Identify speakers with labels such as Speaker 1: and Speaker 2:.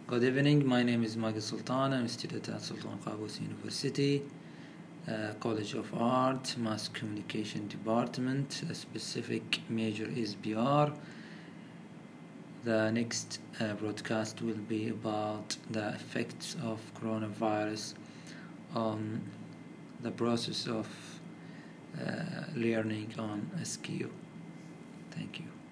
Speaker 1: Good evening, my name is Magid Sultan. I'm a student at Sultan Qaboos University, College of Art, Mass Communication Department. A specific major is PR. The next broadcast will be about the effects of coronavirus on the process of learning on SQ. Thank you.